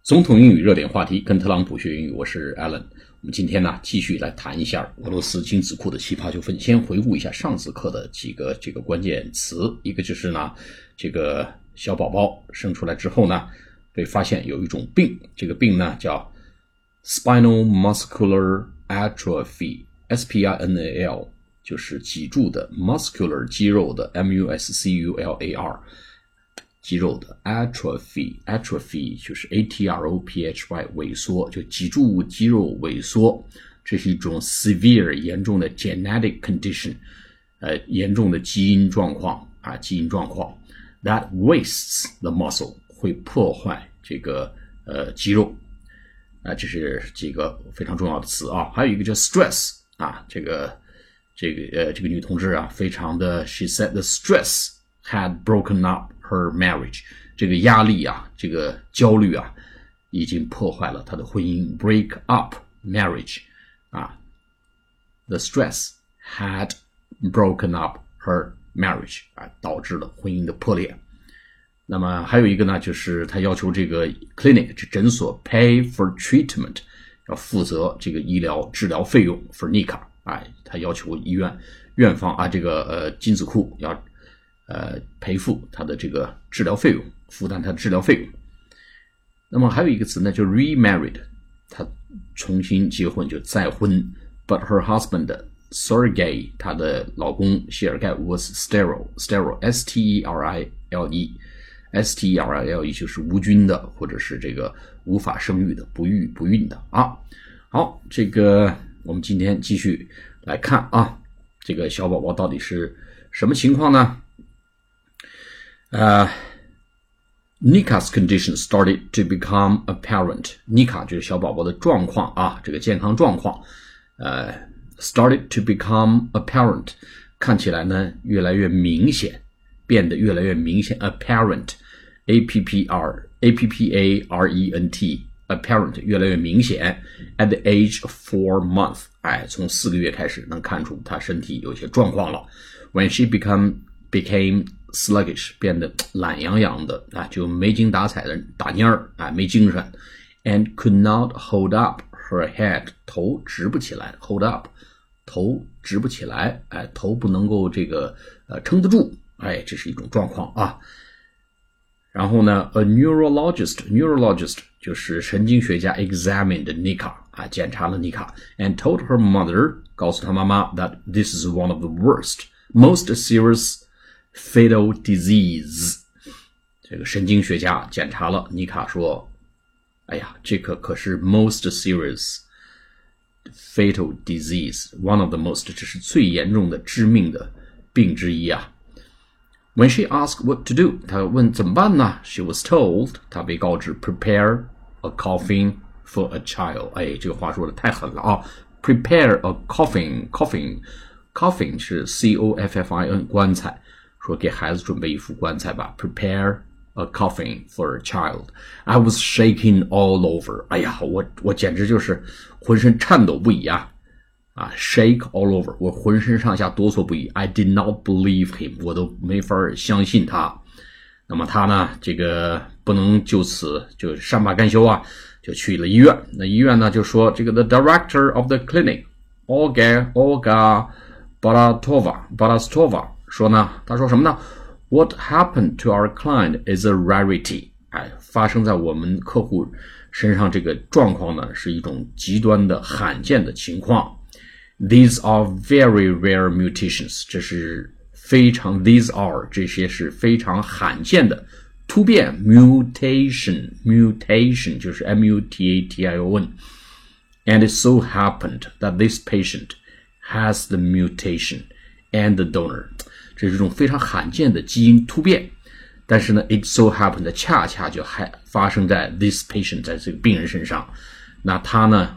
总统英语热点话题，跟特朗普学英语，我是 Alan。我们今天呢继续来谈一下俄罗斯精子库的奇葩纠纷。先回顾一下上次课的几个关键词，一个就是呢，这个小宝宝生出来之后呢，被发现有一种病，这个病呢叫 Spinal Muscular Atrophy，SPINAL 就是脊柱的 muscular 肌肉的 MUSCULAR。肌肉的 atrophy 就是 ATROPHY 萎缩，就脊柱肌肉萎缩，这是一种 severe 严重的 genetic condition， 严重的基因状况that wastes the muscle 会破坏这个肌肉这是几个非常重要的词啊。还有一个叫 stress 这个女同志非常的 she said the stress had broken up her marriage， 这个压力这个焦虑已经破坏了她的婚姻。 break up marriage the stress had broken up her marriage 导致了婚姻的破裂。那么还有一个呢，就是他要求这个 clinic 这诊所 pay for treatment 要负责这个医疗治疗费用 for Nika 他要求院方这个精子库要赔付他的这个治疗费用，负担他的治疗费用。那么还有一个词呢，就 remarried， 他重新结婚，就再婚。But her husband Sergei， 她的老公谢尔盖 was sterile S-T-E-R-I-L-E 就是无菌的，或者是这个无法生育的，不孕的好，这个我们今天继续来看这个小宝宝到底是什么情况呢？Nika's condition started to become apparent. Nika 就是小宝宝的状况这个健康状况started to become apparent， 看起来呢越来越明显，变得越来越明显。apparent A-P-P-A-R-E-N-T apparent 越来越明显。At the age of 4 months， 从4个月开始能看出他身体有些状况了。When she became sluggish， 变得懒洋洋的就没精打采的打蔫儿没精神。And could not hold up her head， 头直不起来。 hold up 头直不起来头不能够这个撑得住这是一种状况然后呢 a neurologist 就是神经学家 examined Nika 检查了 Nika and told her mother， 告诉她妈妈 that this is one of the worst most serious fatal disease。 这个神经学家检查了妮卡说，这个可是 most serious fatal disease， one of the most， 这是最严重的致命的病之一When she asked what to do， 她问怎么办呢？ She was told， 她被告知 prepare a coffin for a child。 这个话说的太狠了prepare a coffin是 C-O-F-F-I-N 棺材，说给孩子准备一副棺材吧 prepare a coffin for a child。 I was shaking all over， 我简直就是浑身颤抖不已shake all over， 我浑身上下哆嗦不已。 I did not believe him， 我都没法相信他。那么他呢这个不能就此就善罢甘休就去了医院。那医院呢就说这个 the director of the clinic Olga Balastova 说呢，他说什么呢？ What happened to our client is a rarity， 发生在我们客户身上这个状况呢是一种极端的罕见的情况。 These are very rare mutations， 这是这些是非常罕见的突变 mutation 就是 M-U-T-A-T-I-O-N and it so happened that this patient has the mutation and the donor， 这是一种非常罕见的基因突变，但是呢 it so happened 恰恰就还发生在 this patient， 在这个病人身上。那他呢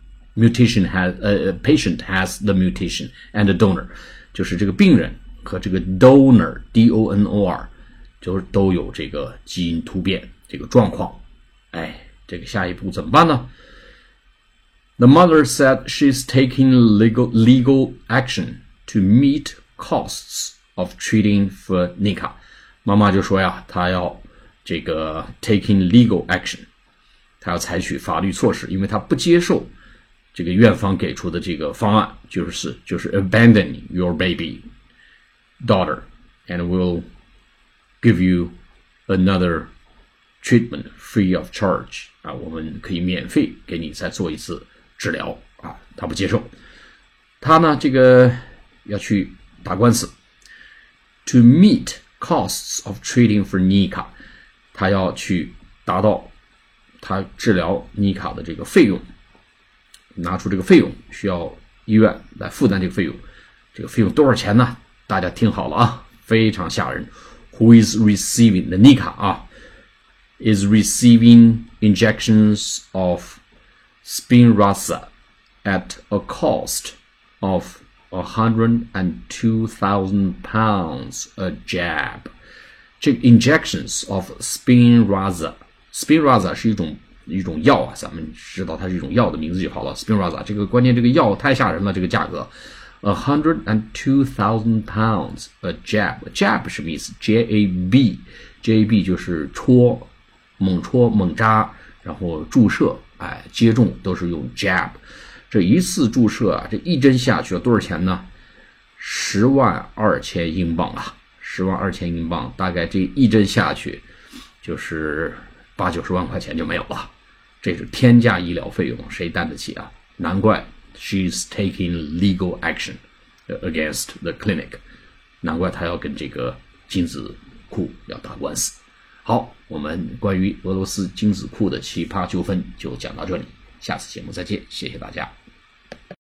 patient has the mutation and the donor， 就是这个病人和这个 donor D-O-N-O-R 就都有这个基因突变这个状况。这个下一步怎么办呢？ The mother said she's taking legal action to meet costs of treating for Nika。 妈妈就说她要这个 taking legal action， 他要采取法律措施，因为他不接受这个院方给出的这个方案，就是 abandon your baby daughter and we'll give you another treatment free of charge 啊，我们可以免费给你再做一次治疗啊，他不接受，他呢这个要去打官司 to meet costs of treating for Nika， 他要去达到他治疗妮卡的这个费用，拿出这个费用，需要医院来负担这个费用，这个费用多少钱呢？大家听好了啊，非常吓人。Who is receiving the Nika 啊 is receiving injections of Spinraza at a cost of 102,000 pounds a jab。这个 injections of Spinraza 是一种药啊，咱们知道它是一种药的名字就好了。Spinraza 这个关键这个药太吓人了，这个价格 102,000 pounds a jab 什么意思 ？jab 就是猛戳猛扎，然后注射，接种都是用 jab。这一次注射啊，这一针下去要多少钱呢？102,000英镑啊，102,000英镑，大概这一针下去就是80-90万块钱就没有了，这是天价医疗费用，谁担得起啊？难怪 she's taking legal action against the clinic， 难怪她要跟这个精子库要打官司。好，我们关于俄罗斯精子库的奇葩纠纷就讲到这里，下次节目再见，谢谢大家。